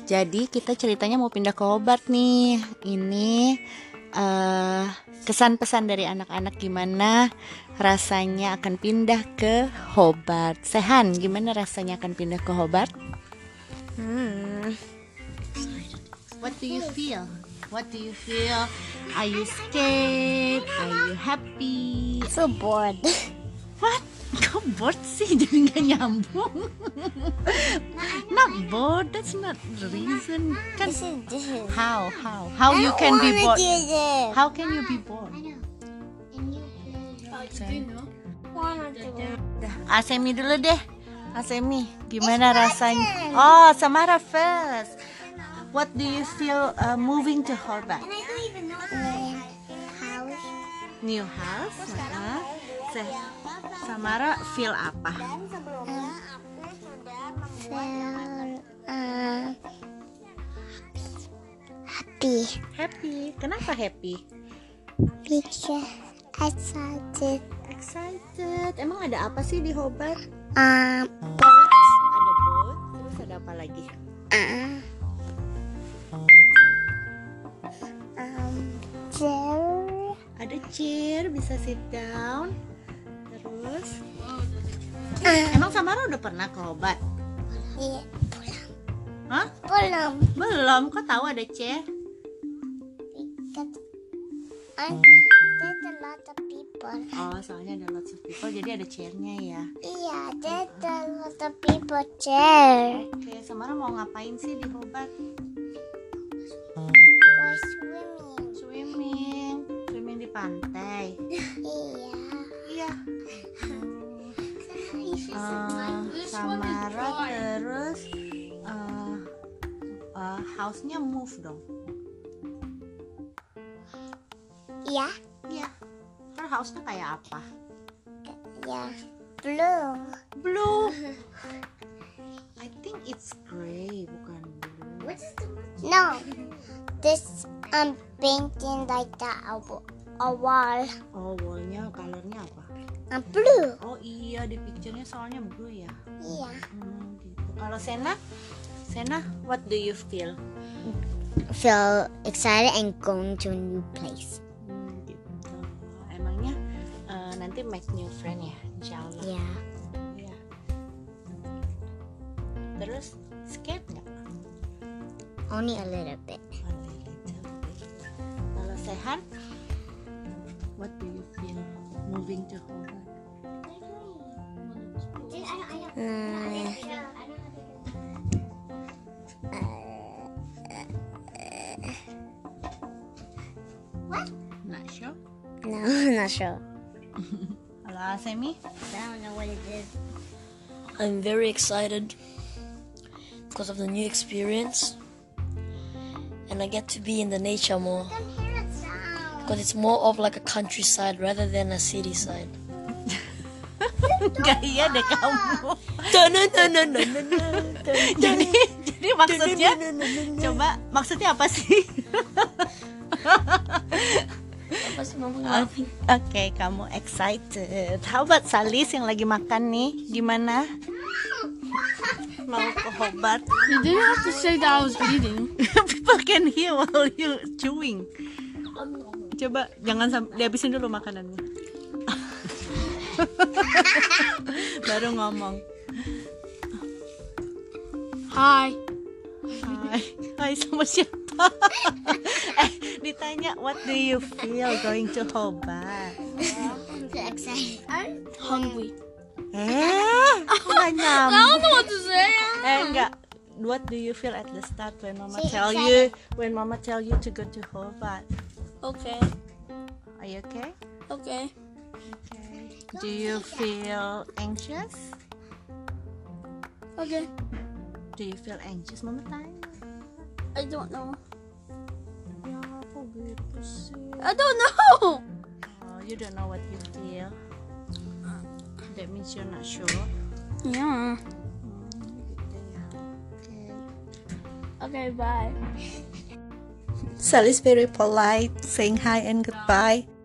Jadi kita ceritanya mau pindah ke Hobart nih. Ini kesan pesan dari anak-anak gimana rasanya akan pindah ke Hobart. Sehan, gimana rasanya akan pindah ke Hobart? What do you feel? What do you feel? Are you scared? Are you happy? So bored. What? Kok bored sih? Jadi nggak nyambung. Not bored. That's not the reason. Kan? This is. How you can be bored? How can you be bored? Asemi dulu deh. Asemi, gimana rasanya? Oh, Samara first. What do you feel moving to Hobart? New house. Samara feel apa? Happy. Kenapa happy? Because Excited. Emang ada apa sih di Hobart? bored. Ada boat. Terus ada apa lagi? Chair. Ada chair, bisa sit down. Terus emang Samara udah pernah ke Hobart? Iya, Hah? belum. Kok tahu ada chair? Because there's a lot of people. Oh, soalnya ada lots of people, jadi ada chairnya ya. Iya, there's a lot of people chair. Oke, Samara mau ngapain sih di Hobart? Go Swimming di pantai. Iya. Samara terus house-nya move dong. Iya. Terus house-nya kayak apa? Ya. Blue. I think it's gray, bukan blue. No. This painting like that a wall. Oh, wallnya colornya apa? Blue. Oh iya, di picture-nya soalnya blue ya. Iya. Gitu. Kalau Sena, what do you feel? Feel excited and going to a new place. Gitu. Emangnya nanti make new friend ya, insyaallah. Yeah. Iya. Terus scared nggak? Only a little bit. Kalau Sehan, what do you feel moving to Hobart? Not sure. No, not sure. Kalau Asemi? I don't know what it is. I'm very excited because of the new experience, and I get to be in the nature more because it's more of like a countryside rather than a city side. Gaya deh kamu. Jadi maksudnya, coba maksudnya apa sih? Apa sih mama ngalamin? Oke, kamu excited. How about Salis yang lagi makan nih? Gimana? Mau ke Hobart? You didn't have to say that I was eating. People can hear while you chewing. Coba jangan sampai dihabisin dulu makanannya. Baru ngomong. Hi. Hai sama siapa? Ditanya what do you feel going to Hobart? So excited. Hungry. Nggak nyambung. I don't know what to say. Enggak. What do you feel at the start when Mama Say tell you to go to Hobart? Okay. Are you okay? Okay. Do you feel anxious? Okay. Do you feel anxious, Mama tanya? I don't know. Ya, kok gitu sih? I don't know. Oh, you don't know what you feel. That means you're not sure. Yeah. Gitu ya. Okay, bye. Sally's very polite, saying hi and goodbye.